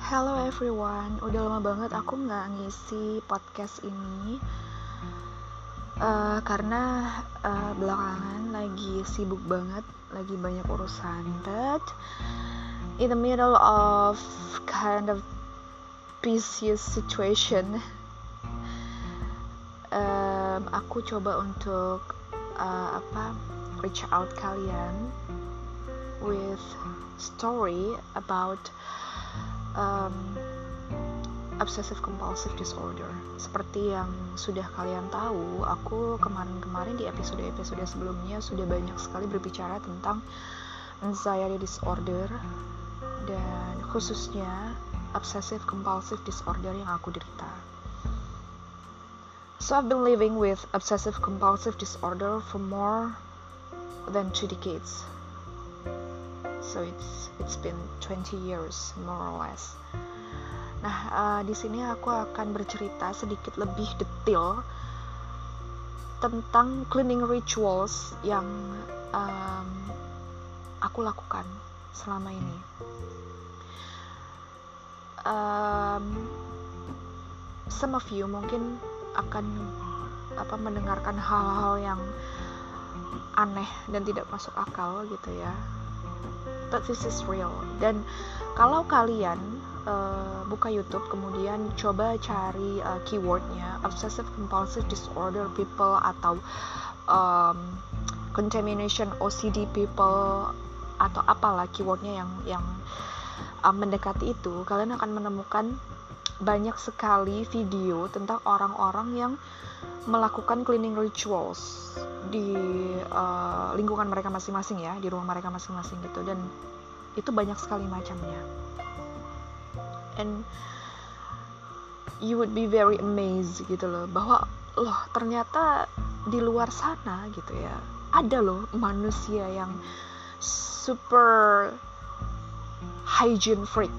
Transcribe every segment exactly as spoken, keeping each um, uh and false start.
Hello everyone, udah lama banget aku nggak ngisi podcast ini uh, karena uh, belakangan lagi sibuk banget, lagi banyak urusan. But in the middle of kind of precious situation, um, aku coba untuk uh, apa reach out kalian with story about um, obsessive compulsive disorder. Seperti yang sudah kalian tahu, aku kemarin-kemarin di episode-episode sebelumnya sudah banyak sekali berbicara tentang anxiety disorder dan khususnya obsessive compulsive disorder yang aku derita. So I've been living with obsessive compulsive disorder for more than two decades. So it's it's been twenty years more or less. Nah, uh, di sini aku akan bercerita sedikit lebih detail tentang cleaning rituals yang um, aku lakukan selama ini. Um, some of you mungkin akan apa mendengarkan hal-hal yang aneh dan tidak masuk akal gitu ya. But this is real. Dan kalau kalian uh, buka YouTube kemudian coba cari uh, keywordnya obsessive compulsive disorder people atau um, contamination O C D people atau apalah keywordnya yang yang uh, mendekati itu, kalian akan menemukan banyak sekali video tentang orang-orang yang melakukan cleaning rituals di uh, lingkungan mereka masing-masing ya, di rumah mereka masing-masing gitu, dan itu banyak sekali macamnya. And you would be very amazed gitu loh, bahwa loh ternyata di luar sana gitu ya, ada loh manusia yang super hygiene freak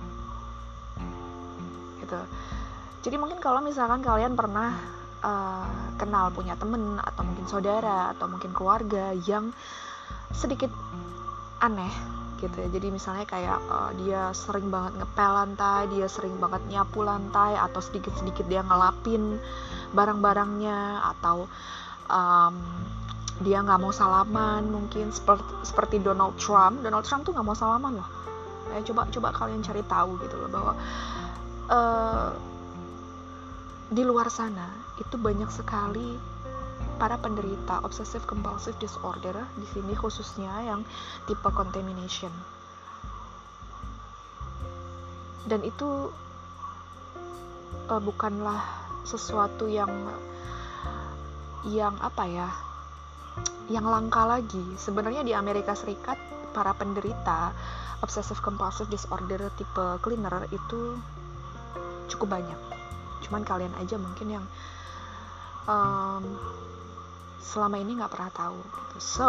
gitu. Jadi mungkin kalau misalkan kalian pernah uh, kenal punya temen atau mungkin saudara atau mungkin keluarga yang sedikit aneh gitu ya. Jadi misalnya kayak uh, dia sering banget ngepel lantai, dia sering banget nyapu lantai, atau sedikit-sedikit dia ngelapin barang-barangnya, atau um, dia nggak mau salaman mungkin seperti, seperti Donald Trump. Donald Trump tuh nggak mau salaman loh. Ya, coba coba kalian cari tahu gitu loh bahwa Uh, di luar sana itu banyak sekali para penderita obsessive compulsive disorder, di sini khususnya yang tipe contamination. Dan itu uh, bukanlah sesuatu yang yang apa ya, yang langka lagi. Sebenarnya di Amerika Serikat para penderita obsessive compulsive disorder tipe cleaner itu cukup banyak. Cuman kalian aja mungkin yang um, selama ini nggak pernah tahu gitu. So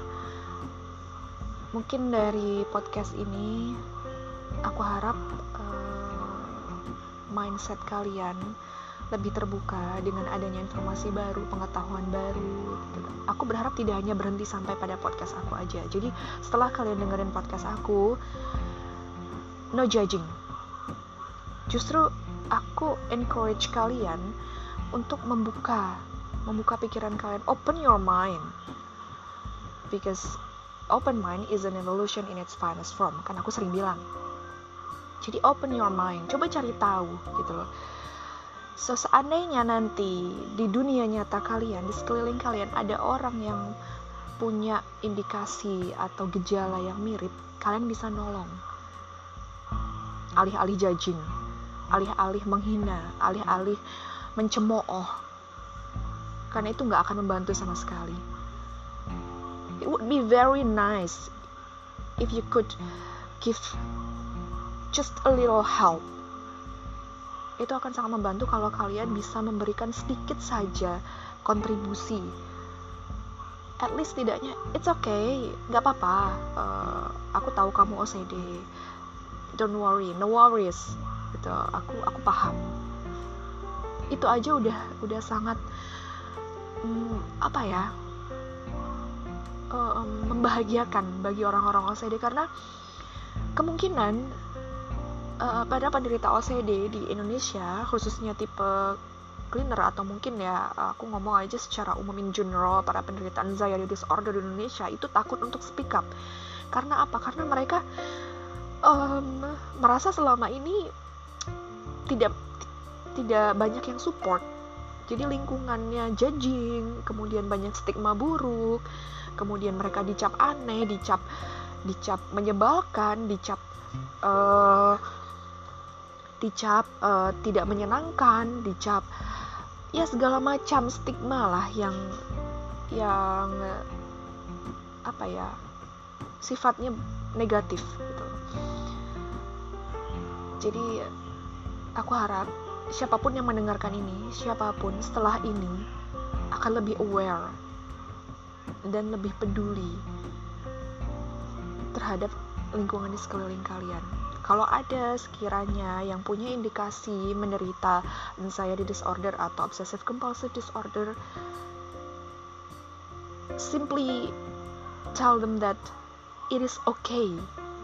mungkin dari podcast ini aku harap uh, mindset kalian lebih terbuka dengan adanya informasi baru, pengetahuan baru gitu. Aku berharap tidak hanya berhenti sampai pada podcast aku aja. Jadi setelah kalian dengerin podcast aku, no judging. Justru aku encourage kalian untuk membuka membuka pikiran kalian, open your mind, because open mind is an evolution in its finest form, kan aku sering bilang. Jadi open your mind, coba cari tahu gitu loh. So seandainya nanti di dunia nyata kalian, di sekeliling kalian ada orang yang punya indikasi atau gejala yang mirip, kalian bisa nolong, alih-alih judging, alih-alih menghina, alih-alih mencemooh, karena itu gak akan membantu sama sekali. It would be very nice if you could give just a little help. Itu akan sangat membantu kalau kalian bisa memberikan sedikit saja kontribusi. At least tidaknya, it's okay, gak apa-apa, uh, aku tahu kamu O C D, don't worry, no worries gitu, aku aku paham. Itu aja udah udah sangat hmm, apa ya um, membahagiakan bagi orang-orang O C D, karena kemungkinan uh, pada penderita O C D di Indonesia, khususnya tipe cleaner atau mungkin ya aku ngomong aja secara umum in general, para penderita anxiety disorder di Indonesia itu takut untuk speak up. Karena apa? Karena mereka um, merasa selama ini tidak tidak banyak yang support. Jadi lingkungannya judging, kemudian banyak stigma buruk, kemudian mereka dicap aneh, dicap dicap menyebalkan, dicap uh, dicap uh, tidak menyenangkan, dicap ya segala macam stigma lah yang yang apa ya sifatnya negatif gitu. Jadi aku harap siapapun yang mendengarkan ini, siapapun setelah ini akan lebih aware dan lebih peduli terhadap lingkungan di sekeliling kalian. Kalau ada sekiranya yang punya indikasi menderita anxiety disorder atau obsessive compulsive disorder, simply tell them that it is okay.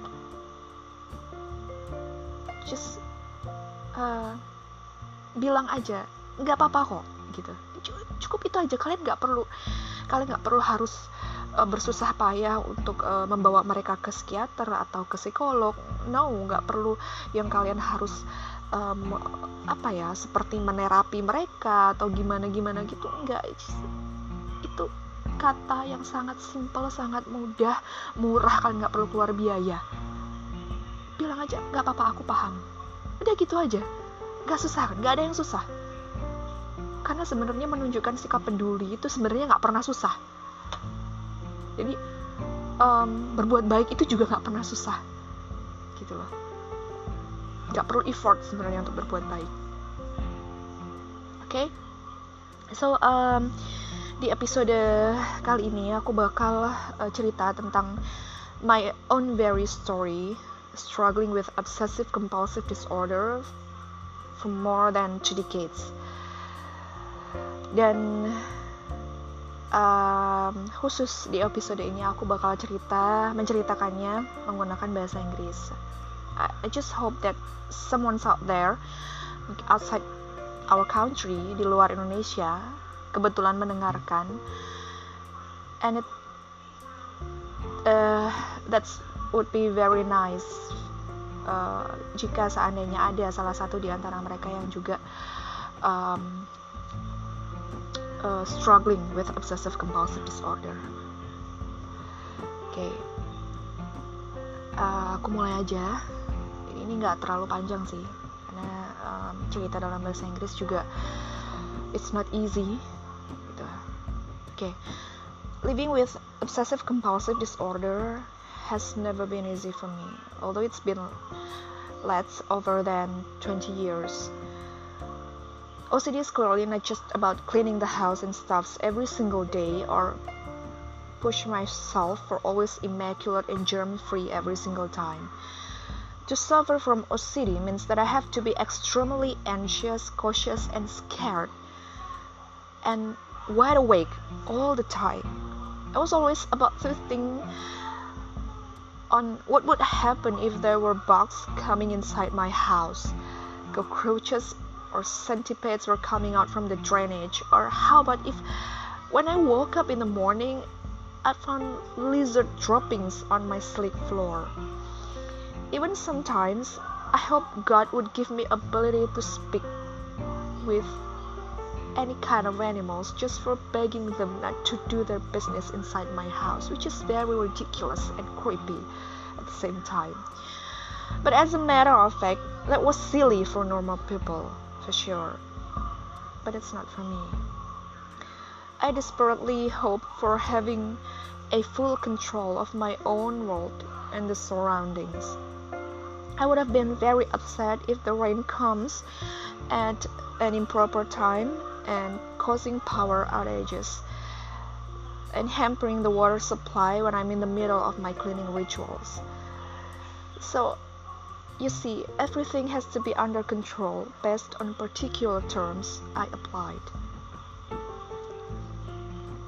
Just uh, bilang aja, nggak apa-apa kok, gitu. Cukup itu aja. Kalian nggak perlu, kalian nggak perlu harus uh, bersusah payah untuk uh, membawa mereka ke psikiater atau ke psikolog. No, nggak perlu yang kalian harus um, apa ya, seperti menerapi mereka atau gimana-gimana gitu. Nggak, itu kata yang sangat simpel, sangat mudah, murah. Kalian nggak perlu keluar biaya. Bilang aja, nggak apa-apa, aku paham. Udah gitu aja. Gak susah, gak ada yang susah. Karena sebenarnya menunjukkan sikap peduli itu sebenarnya gak pernah susah. Jadi um, berbuat baik itu juga gak pernah susah, gitu loh. Gak perlu effort sebenarnya untuk berbuat baik. Oke, okay? So um, di episode kali ini aku bakal uh, cerita tentang my own very story, struggling with obsessive compulsive disorder for more than two decades. Dan um, khusus di episode ini aku bakal cerita menceritakannya menggunakan bahasa Inggris. I, I just hope that someone out there outside our country, di luar Indonesia, kebetulan mendengarkan, and it uh, that's would be very nice. Uh, jika seandainya ada salah satu di antara mereka yang juga um, uh, struggling with obsessive compulsive disorder. Oke, okay. uh, aku mulai aja. Ini nggak terlalu panjang sih, karena um, cerita dalam bahasa Inggris juga it's not easy. Gitu. Oke, okay. Living with obsessive compulsive disorder has never been easy for me, although it's been less over than twenty years. O C D is clearly not just about cleaning the house and stuffs every single day or push myself for always immaculate and germ-free every single time. To suffer from O C D means that I have to be extremely anxious, cautious, and scared, and wide awake all the time. I was always about to think on what would happen if there were bugs coming inside my house, cockroaches or centipedes were coming out from the drainage, or how about if when I woke up in the morning I found lizard droppings on my sleep floor. Even sometimes I hope God would give me ability to speak with any kind of animals just for begging them not to do their business inside my house, which is very ridiculous and creepy at the same time. But as a matter of fact, that was silly for normal people, for sure. But it's not for me. I desperately hope for having a full control of my own world and the surroundings. I would have been very upset if the rain comes at an improper time and causing power outages and hampering the water supply when I'm in the middle of my cleaning rituals. So, you see, everything has to be under control based on particular terms I applied.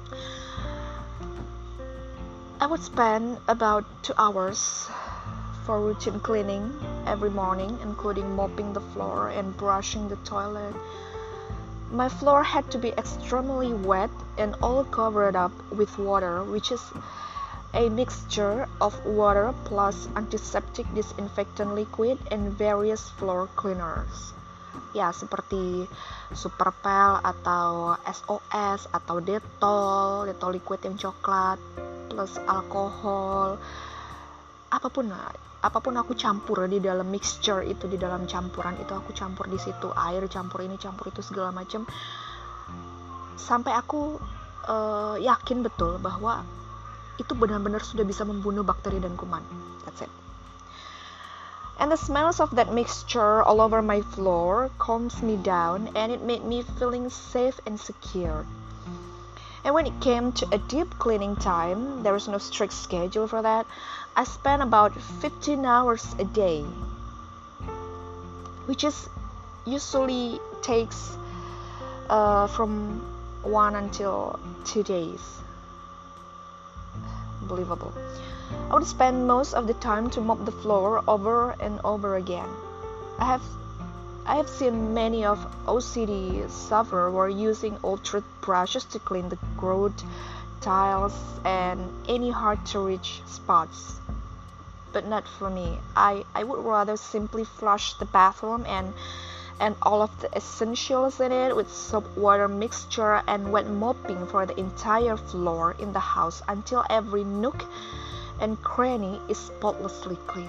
I would spend about two hours for routine cleaning every morning, including mopping the floor and brushing the toilet. My floor had to be extremely wet and all covered up with water, which is a mixture of water plus antiseptic disinfectant liquid and various floor cleaners. Ya, seperti Superpel atau S O S atau Dettol, Dettol liquid yang coklat plus alkohol. Apapun apapun aku campur di dalam mixture itu, di dalam campuran itu aku campur di situ, air campur ini campur itu segala macam, sampai aku uh, yakin betul bahwa itu benar-benar sudah bisa membunuh bakteri dan kuman. That's it. And the smells of that mixture all over my floor calms me down, and it made me feeling safe and secure. And when it came to a deep cleaning time, there was no strict schedule for that. I spent about fifteen hours a day, which is usually takes uh, from one until two days. Unbelievable. I would spend most of the time to mop the floor over and over again. I have I have seen many of O C D sufferers were using old toothbrushes to clean the grout, tiles, and any hard-to-reach spots. But not for me. I, I would rather simply flush the bathroom and and all of the essentials in it with soap water mixture and wet mopping for the entire floor in the house until every nook and cranny is spotlessly clean.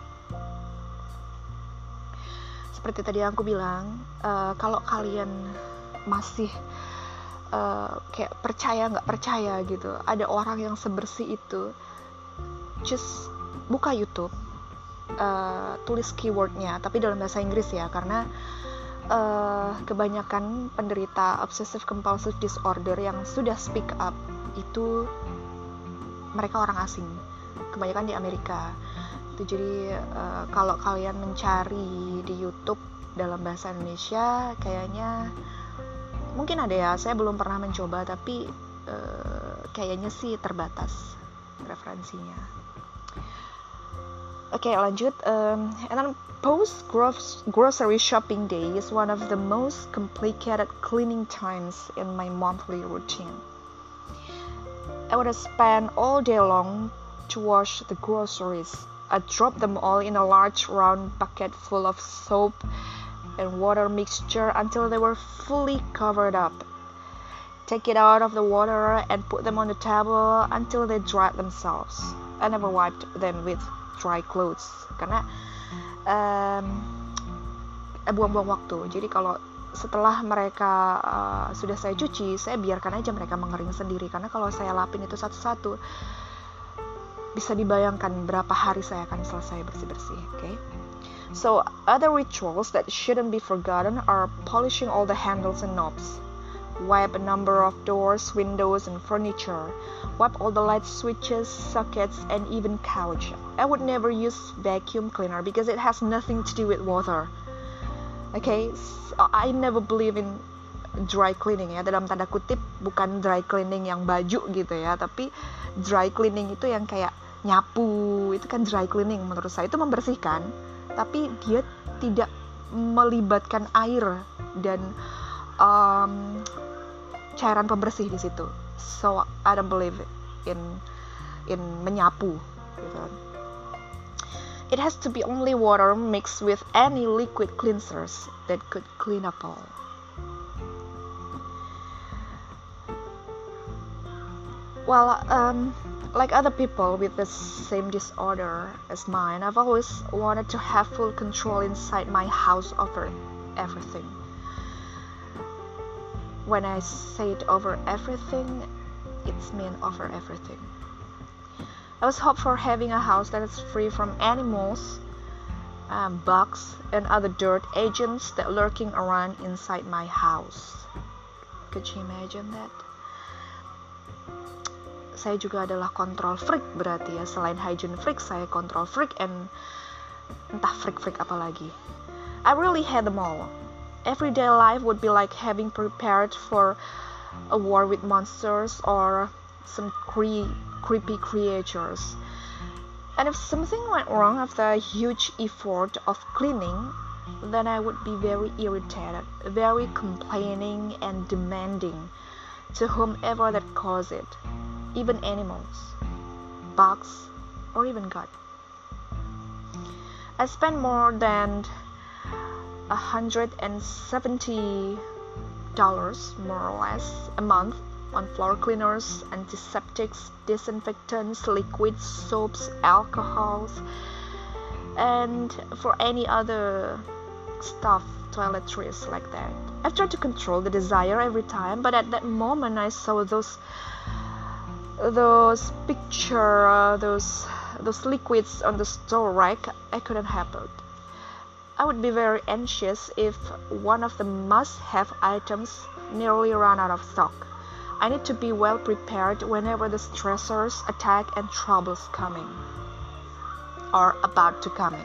Seperti tadi aku bilang, uh, kalau kalian masih uh, kayak percaya nggak percaya gitu, ada orang yang sebersih itu, just buka YouTube, uh, tulis keywordnya, tapi dalam bahasa Inggris ya, karena uh, kebanyakan penderita obsessive compulsive disorder yang sudah speak up itu mereka orang asing, kebanyakan di Amerika. Itu jadi uh, kalau kalian mencari di YouTube dalam bahasa Indonesia, kayaknya mungkin ada ya. Saya belum pernah mencoba, tapi uh, kayaknya sih terbatas referensinya. Oke, okay, lanjut. Um, and then post grocery shopping day is one of the most complicated cleaning times in my monthly routine. I would spend all day long to wash the groceries. I drop them all in a large round bucket full of soap and water mixture until they were fully covered up. Take it out of the water and put them on the table until they dried themselves. I never wiped them with dry clothes karena um, buang-buang waktu. Jadi kalau setelah mereka uh, sudah saya cuci, saya biarkan aja mereka mengering sendiri, karena kalau saya lapin itu satu-satu bisa dibayangkan berapa hari saya akan selesai bersih-bersih. Okay? So other rituals that shouldn't be forgotten are polishing all the handles and knobs, wipe a number of doors, windows, and furniture, wipe all the light switches, sockets, and even couch. I would never use vacuum cleaner because it has nothing to do with water. Okay, so I never believe in dry cleaning ya, dalam tanda kutip, bukan dry cleaning yang baju gitu ya, tapi dry cleaning itu yang kayak nyapu, itu kan dry cleaning menurut saya. Itu membersihkan, tapi dia tidak melibatkan air dan um, cairan pembersih di situ. So I don't believe in in menyapu gitu. It has to be only water mixed with any liquid cleansers that could clean up all. Well, um, like other people with the same disorder as mine, I've always wanted to have full control inside my house over everything. When I say it over everything, it's mean over everything. I was hoping for having a house that is free from animals, um, bugs, and other dirt agents that lurking around inside my house. Could you imagine that? Saya juga adalah control freak berarti ya. Selain hygiene freak, saya control freak and entah freak-freak apa lagi. I really had them all. Everyday life would be like having prepared for a war with monsters or some cre- creepy creatures. And if something went wrong after a huge effort of cleaning, then I would be very irritated, very complaining and demanding to whomever that caused it, even animals, bugs, or even God. I spent more than one hundred seventy dollars more or less a month on floor cleaners, antiseptics, disinfectants, liquids, soaps, alcohols, and for any other stuff, toiletries like that. I've tried to control the desire every time, but at that moment I saw those those picture, uh, those those liquids on the store rack. I couldn't help it. I would be very anxious if one of the must-have items nearly ran out of stock. I need to be well prepared whenever the stressors attack and troubles coming or about to come in.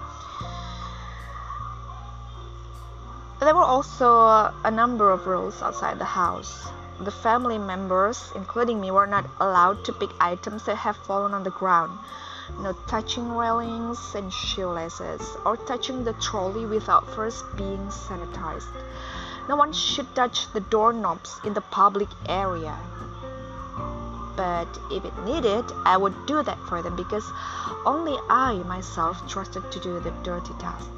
There were also a number of rules outside the house. The family members, including me, were not allowed to pick items that have fallen on the ground. No touching railings and shoelaces, or touching the trolley without first being sanitized. No one should touch the doorknobs in the public area. But if it needed, I would do that for them because only I myself trusted to do the dirty task.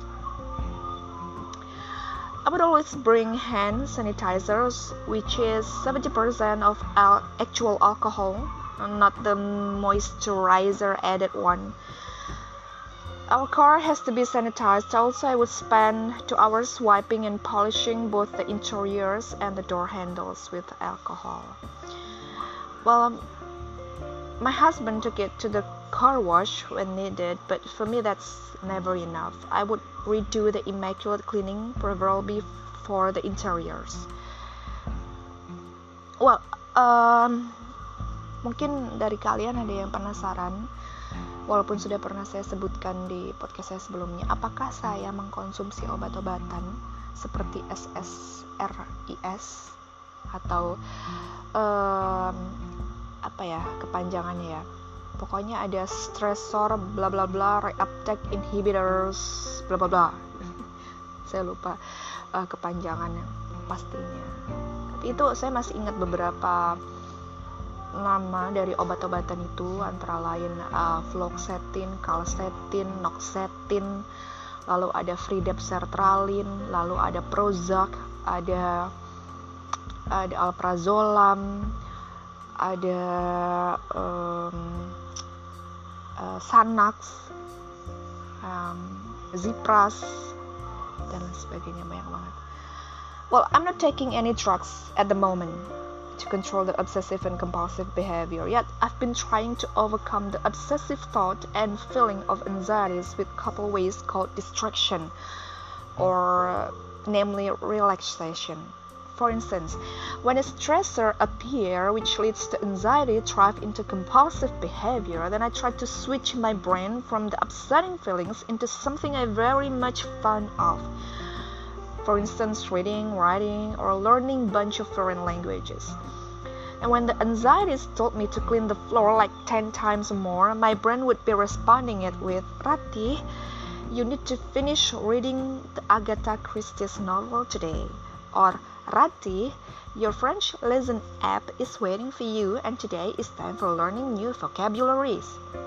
I would always bring hand sanitizers, which is seventy percent of al- actual alcohol, not the moisturizer added one. Our car has to be sanitized. Also, I would spend two hours wiping and polishing both the interiors and the door handles with alcohol. Well, um, my husband took it to the car wash when needed, but for me that's never enough. I would redo the immaculate cleaning, preferably for the interiors. Well, um, mungkin dari kalian ada yang penasaran, walaupun sudah pernah saya sebutkan di podcast saya sebelumnya, apakah saya mengkonsumsi obat-obatan seperti S S R I S atau um, apa ya kepanjangannya ya, pokoknya ada stressor bla bla bla reuptake inhibitors bla bla bla saya lupa uh, kepanjangannya pastinya, tapi itu saya masih ingat beberapa nama dari obat-obatan itu, antara lain uh, fluoxetine, calcetine, noxetine, lalu ada fridep-sertralin, lalu ada Prozac, ada ada alprazolam, ada um, uh, Xanax, um, Zipras, dan lain sebagainya, banyak banget. Well, I'm not taking any drugs at the moment to control the obsessive and compulsive behavior, yet I've been trying to overcome the obsessive thought and feeling of anxieties with a couple ways called distraction, or uh, namely relaxation. For instance, when a stressor appears which leads to anxiety drive into compulsive behavior, then I try to switch my brain from the upsetting feelings into something I very much fond of. For instance, reading, writing, or learning a bunch of foreign languages. And when the anxieties told me to clean the floor like ten times more, my brain would be responding it with, Rati, you need to finish reading the Agatha Christie's novel today. Or, Rati, your French lesson app is waiting for you and today is time for learning new vocabularies.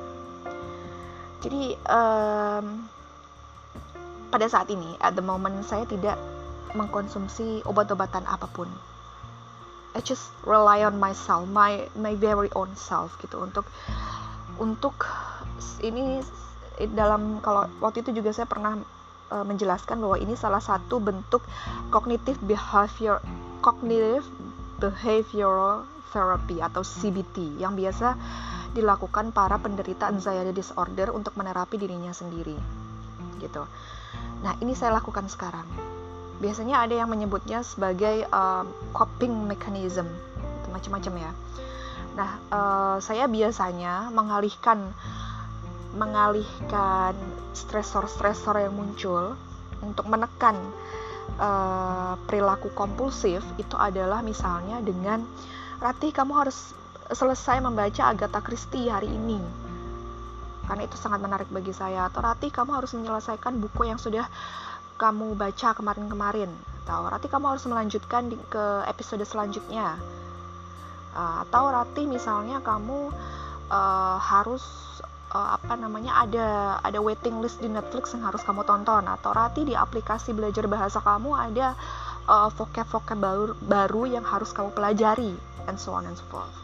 Jadi, um, pada saat ini, at the moment, saya tidak mengkonsumsi obat-obatan apapun. I just rely on myself, my my very own self gitu untuk untuk ini dalam, kalau waktu itu juga saya pernah uh, menjelaskan bahwa ini salah satu bentuk cognitive behavior cognitive behavioral therapy atau C B T yang biasa dilakukan para penderita anxiety disorder untuk menerapi dirinya sendiri gitu. Nah, ini saya lakukan sekarang. Biasanya ada yang menyebutnya sebagai uh, coping mechanism, macam-macam ya. Nah, uh, saya biasanya mengalihkan mengalihkan stresor-stresor yang muncul untuk menekan uh, perilaku kompulsif itu adalah misalnya dengan, Rati, kamu harus selesai membaca Agatha Christie hari ini. karena itu sangat menarik bagi saya. Atau Ratih, kamu harus menyelesaikan buku yang sudah kamu baca kemarin-kemarin. Atau Ratih, kamu harus melanjutkan di, ke episode selanjutnya. Uh, atau Ratih, misalnya kamu uh, harus uh, apa namanya ada ada waiting list di Netflix yang harus kamu tonton. Atau Ratih, di aplikasi belajar bahasa kamu ada uh, vocab-vocab baru, baru yang harus kamu pelajari, and so on and so forth.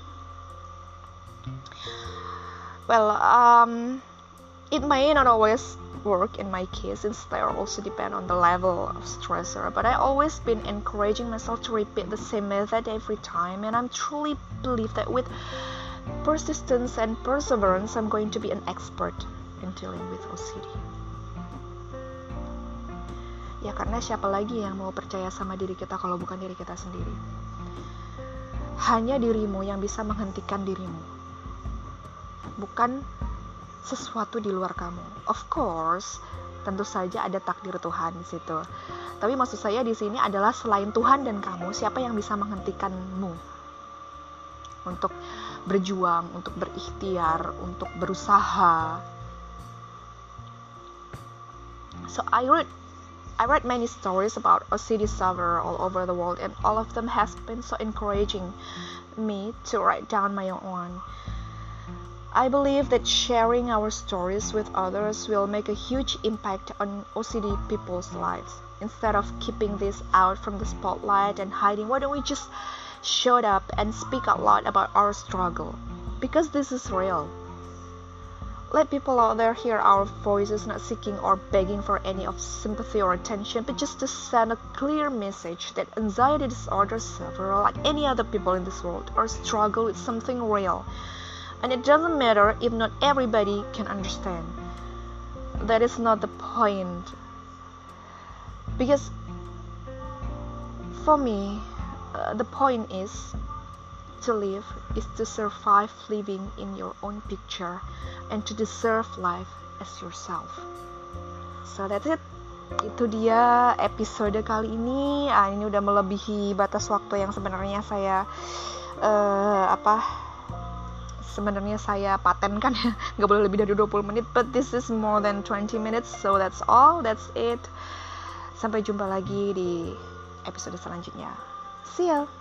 Well, um, it may not always work in my case, since they also depend on the level of stressor, but I always been encouraging myself to repeat the same method every time, and I'm truly believe that with persistence and perseverance, I'm going to be an expert in dealing with O C D. Ya, karena siapa lagi yang mau percaya sama diri kita kalau bukan diri kita sendiri? Hanya dirimu yang bisa menghentikan dirimu, bukan sesuatu di luar kamu. Of course, tentu saja ada takdir Tuhan di situ. Tapi maksud saya di sini adalah selain Tuhan dan kamu, siapa yang bisa menghentikanmu untuk berjuang, untuk berikhtiar, untuk berusaha. So I read I read many stories about O C D sufferers all over the world, and all of them has been so encouraging me to write down my own. I believe that sharing our stories with others will make a huge impact on O C D people's lives. Instead of keeping this out from the spotlight and hiding, why don't we just show up and speak out loud about our struggle? Because this is real. Let people out there hear our voices, not seeking or begging for any of sympathy or attention, but just to send a clear message that anxiety disorder sufferers, like any other people in this world, are struggle with something real. And it doesn't matter if not everybody can understand. That is not the point. Because for me, uh, the point is to live is to survive living in your own picture and to deserve life as yourself. So that's it. Itu dia episode kali ini. Ah, ini udah melebihi batas waktu yang sebenarnya saya uh, apa sebenarnya saya patenkan ya, nggak boleh lebih dari dua puluh menit, but this is more than twenty minutes, so that's all, that's it. Sampai jumpa lagi di episode selanjutnya. See ya.